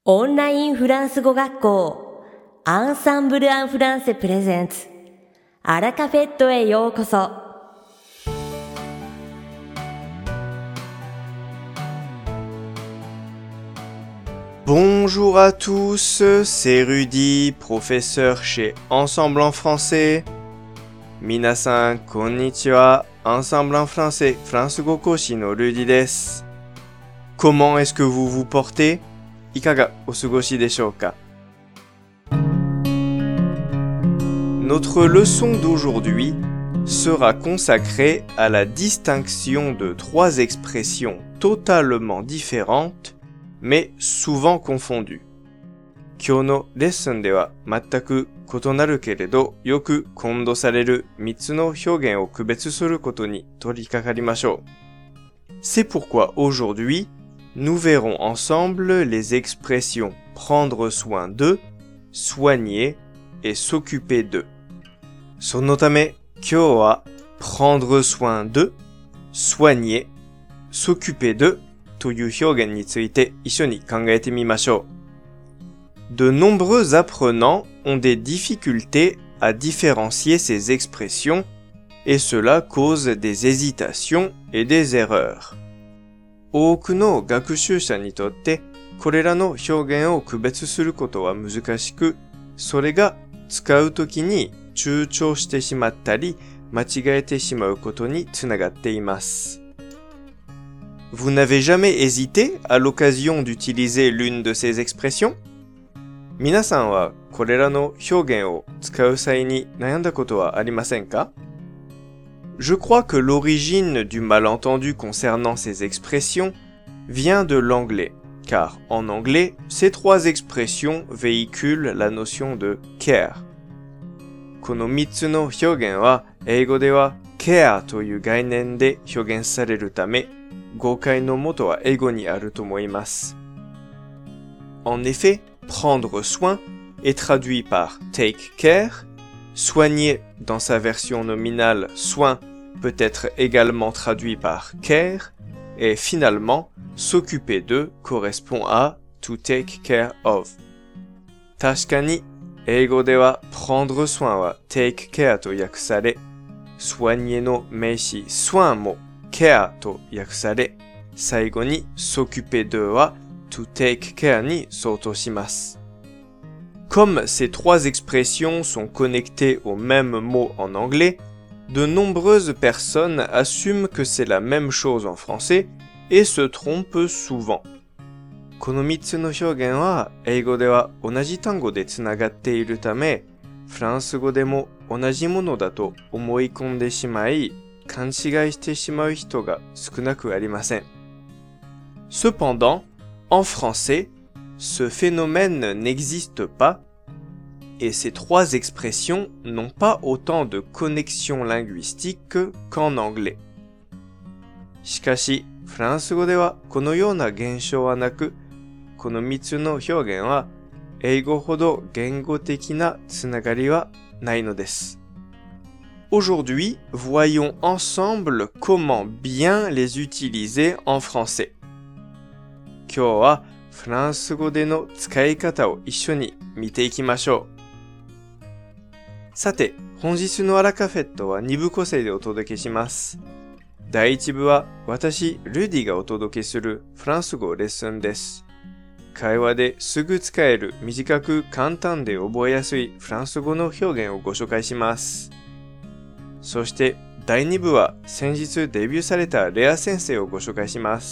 オンラインフランス語学校アンサンブル・アン・フランセプレゼンツアラカフェットへようこそ。 Bonjour à tous, c'est Rudy, professeur chez Ensemble en français. Minasan konnichiwa, Ensemble en français, フランス語講師のRudyです。Comment est-ce que vous vous portez? いかがお過ごしでしょうか? Notre leçon d'aujourd'hui sera consacrée à la distinction de trois expressions totalement différentes mais souvent confondues. 今日のレッスンでは全く異なるけれどよく混同される3つの表現を区別することに取り掛かりましょう。C'est pourquoi aujourd'hui, nous verrons ensemble les expressions prendre soin de, soigner et s'occuper de. そのため今日は prendre soin de, soigner, s'occuper de という表現について一緒に考えてみましょう。De nombreux apprenants ont des difficultés à différencier ces expressions et cela cause des hésitations et des erreurs. 多くの学習者にとってこれらの表現を区別することは難しく、それが使うときに躊躇してしまったり間違えてしまうことにつながっています。Vous n'avez jamais hésité à l'occasion d'utiliser l'une de ces expressions? 皆さんはこれらの表現を使う際に悩んだことはありませんか? Je crois que l'origine du malentendu concernant ces expressions vient de l'anglais, car en anglais, ces trois expressions véhiculent la notion de care. この3つの表現は英語では care という概念で表現されるため、誤解の元は英語にあると思います。En effet, prendre soin est traduit par take care, soigner dans sa version nominale soin peut être également traduit par care, et finalement, s'occuper de correspond à to take care of. 確かに、英語では prendre soin は take care と訳され、soigner の名詞 soin も care と訳され、最後に s'occuper de は to take care に相当します。Comme ces trois expressions sont connectées au même mot en anglais, de nombreuses personnes assument que c'est la même chose en français et se trompent souvent. この3つの表現は英語では同じ単語でつながっているため、フランス語でも同じものだと思い込んでしまい、勘違いしてしまう人が少なくありません。Cependant, en français, ce phénomène n'existe pas et ces trois expressions n'ont pas autant de connexion linguistique qu'en anglais. しかし、フランス語ではこのような現象はなく、この3つの表現は英語ほど言語的なつながりはないのです。Aujourd'hui, voyons ensemble comment bien les utiliser en français. 今日はフランス語での使い方を一緒に見ていきましょう。さて、本日のアラカフェットは2部構成でお届けします。第1部は私、ルディがお届けするフランス語レッスンです。会話ですぐ使える短く簡単で覚えやすいフランス語の表現をご紹介します。そして第2部は先日デビューされたレア先生をご紹介します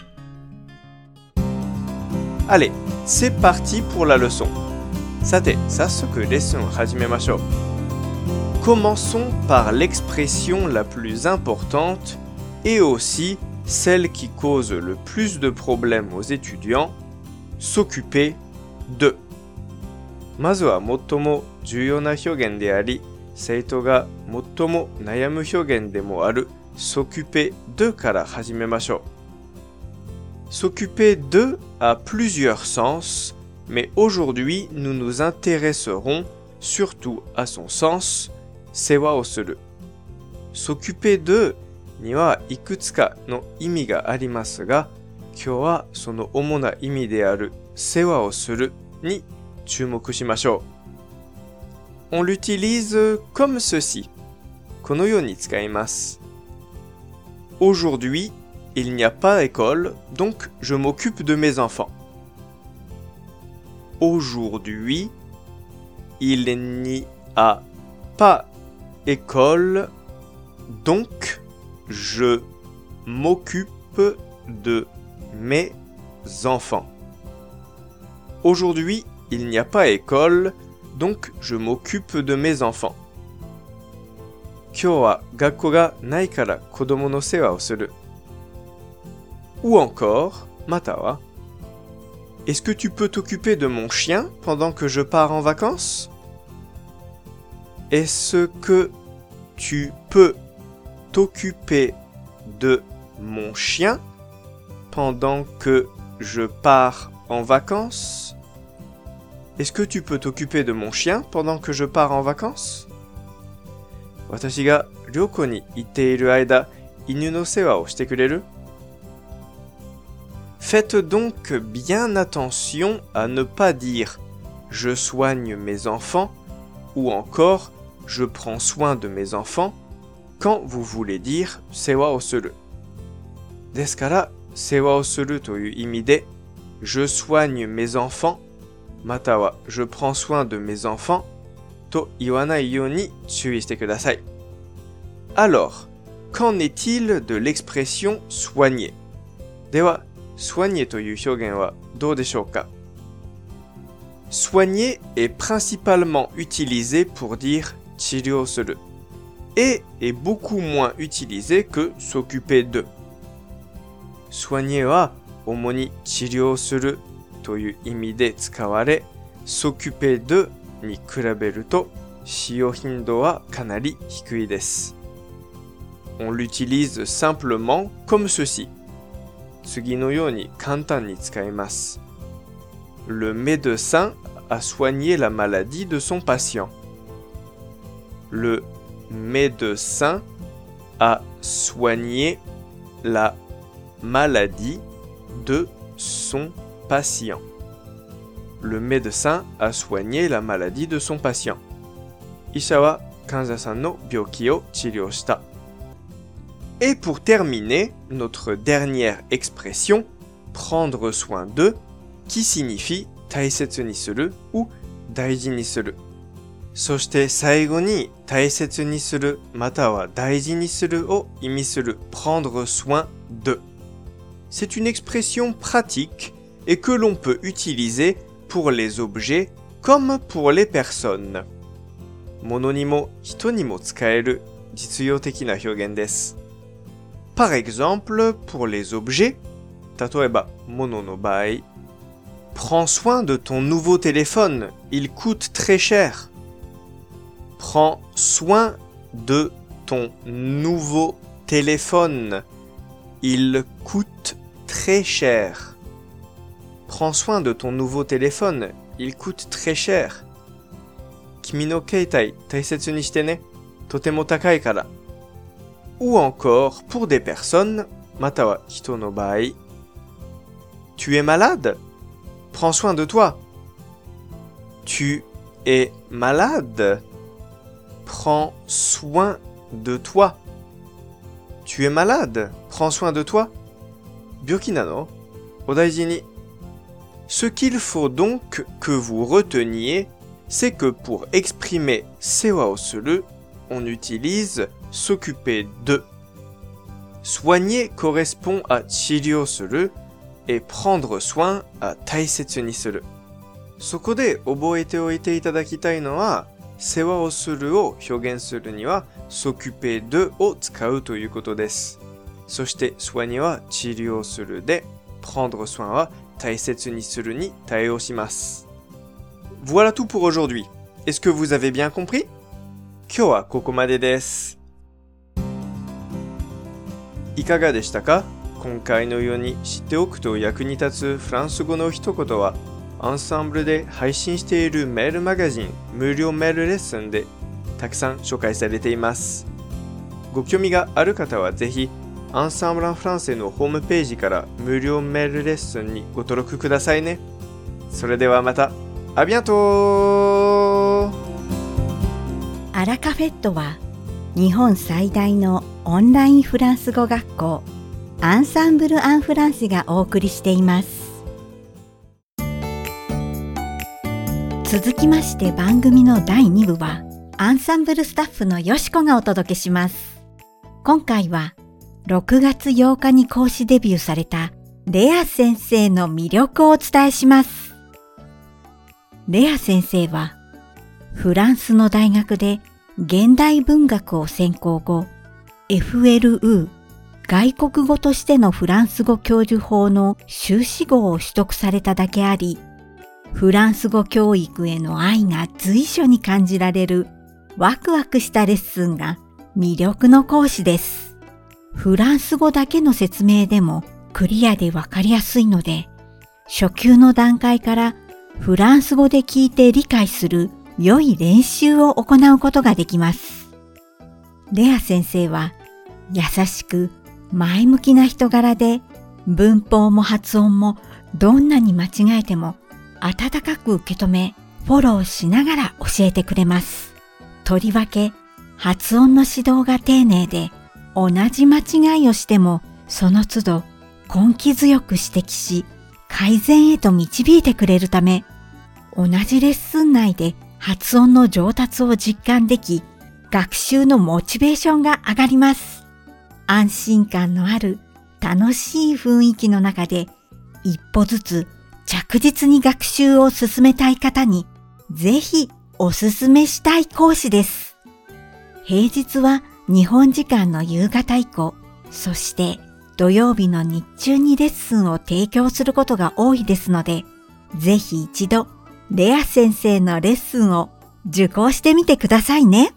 。Allez, c'est parti pour la leçon. さて、早速レッスンを始めましょう。Commençons par l'expression la plus importante et aussi celle qui cause le plus de problèmes aux étudiants, s'occuper de. まずは最も重要な表現であり、生徒が最も悩む表現でもある s'occuper de から始めましょう。S'occuper de a plusieurs sens, mais aujourd'hui nous nous intéresserons surtout à son sens, 世話をする。s'occuper de にはいくつかの意味がありますが、今日はその主な意味である世話をするに注目しましょう。On l'utilise comme ceci. このように使います。Aujourd'hui, il n'y a pas école, donc je m'occupe de mes enfants. Aujourd'hui, il n'y a pas école, donc je m'occupe de mes enfants. Aujourd'hui, il n'y a pas école, donc je m'occupe de mes enfants. 今日は学校がないから子供の世話をする。Ou encore, または Est-ce que tu peux t'occuper de mon chien pendant que je pars en vacances? Est-ce que tu peux t'occuper de mon chien pendant que je pars en vacances? Est-ce que tu peux t'occuper de mon chien pendant que je pars en vacances? 私が旅行に行っている間、犬の世話をしてくれる? Faites donc bien attention à ne pas dire « je soigne mes enfants » ou encore « je prends soin de mes enfants » quand vous voulez dire «世話をする」。ですから、世話をするという意味で「je soigne mes enfants」または「je prends soin de mes enfants」と言わないように注意してください。Alors, qu'en est-il de l'expression « soigner » では、soigner という表現はどうでしょうか? Soigner est principalement utilisé pour dire 治療する et est beaucoup moins utilisé que s'occuper de. Soigner は主に治療するという意味で使われ、s'occuper de に比べると使用頻度はかなり低いです。On l'utilise simplement comme ceci. 次のように簡単に使います。Le médecin a soigné la maladie de son patient. Le médecin a soigné la maladie de son patient. Le médecin a soigné la maladie de son patient. 医者は患者さんの病気を治療した。Et pour terminer, notre dernière expression, prendre soin de, qui signifie 大切にする ou 大事にする。そして最後に大切にするまたは大事にするを意味する prendre soin de. C'est une expression pratique et que l'on peut utiliser pour les objets comme pour les personnes. 物にも人にも使える実用的な表現です。Par exemple, pour les objets, 例えば物の場合、prends soin de ton nouveau téléphone, il coûte très cher. Prends soin de ton nouveau téléphone, il coûte très cher. Prends soin de ton nouveau téléphone, il coûte très cher. 君の携帯大切にしてね、とても高いから。Ou encore pour des personnes, または人の場合、Tu es malade? Prends soin de toi. Tu es malade? Prends soin de toi. Tu es malade? Prends soin de toi. 病気なの？お大事に。Ce qu'il faut donc que vous reteniez, c'est que pour exprimer 世話をする, on utilise s'occuper de. Soigner correspond à 治療する et prendre soin à 大切にする。そこで覚えておいていただきたいのは、世話をするを表現するには s'occuper de を使うということです。そして soigner は治療するで、prendre soin は大切にするに対応します。Voilà tout pour aujourd'hui. Est-ce que vous avez bien compris? 今日はここまでです。いかがでしたか？今回のように知っておくと役に立つフランス語の一言は、アンサンブルで配信しているメールマガジン無料メールレッスンでたくさん紹介されています。ご興味がある方はぜひ、アンサンブル・アン・フランセのホームページから無料メールレッスンにご登録くださいね。 それではまた。À bientôt! アラカフェットは日本最大のオンラインフランス語学校アンサンブル・アン・フランセがお送りしています。続きまして番組の第2部はアンサンブルスタッフのよしこがお届けします。今回は6月8日に講師デビューされたレア先生の魅力をお伝えします。レア先生はフランスの大学で現代文学を専攻後、FLU 外国語としてのフランス語教授法の修士号を取得されただけあり、フランス語教育への愛が随所に感じられるワクワクしたレッスンが魅力の講師です。フランス語だけの説明でもクリアでわかりやすいので、初級の段階からフランス語で聞いて理解する良い練習を行うことができます。レア先生は優しく前向きな人柄で、文法も発音もどんなに間違えても温かく受け止め、フォローしながら教えてくれます。とりわけ発音の指導が丁寧で、同じ間違いをしてもその都度根気強く指摘し、改善へと導いてくれるため、同じレッスン内で発音の上達を実感でき、学習のモチベーションが上がります。安心感のある楽しい雰囲気の中で、一歩ずつ着実に学習を進めたい方に、ぜひおすすめしたい講師です。平日は日本時間の夕方以降、そして土曜日の日中にレッスンを提供することが多いですので、ぜひ一度レア先生のレッスンを受講してみてくださいね。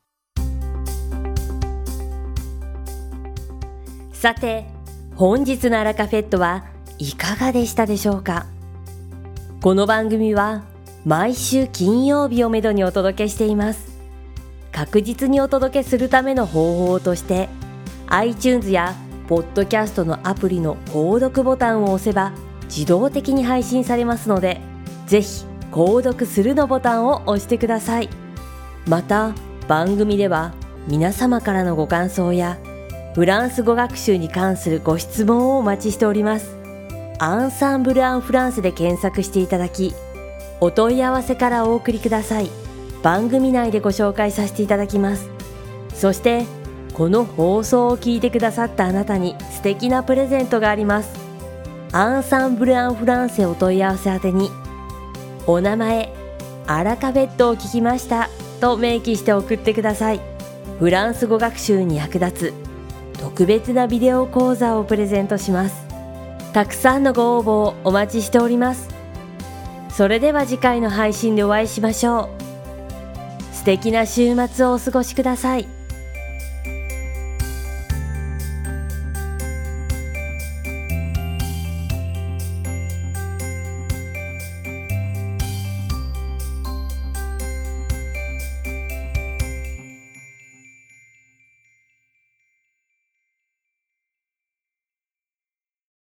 さて、本日のアラカフェットはいかがでしたでしょうか。この番組は毎週金曜日をめどにお届けしています。確実にお届けするための方法として、iTunes やポッドキャストのアプリの購読ボタンを押せば自動的に配信されますので、ぜひ購読するのボタンを押してください。また番組では皆様からのご感想やフランス語学習に関するご質問をお待ちしております。アンサンブル・アン・フランセで検索していただき、お問い合わせからお送りください。番組内でご紹介させていただきます。そしてこの放送を聞いてくださったあなたに素敵なプレゼントがあります。アンサンブル・アン・フランセお問い合わせ宛てに、お名前、アラカフェットを聞きましたと明記して送ってください。フランス語学習に役立つ特別なビデオ講座をプレゼントします。たくさんのご応募をお待ちしております。それでは次回の配信でお会いしましょう。素敵な週末をお過ごしください。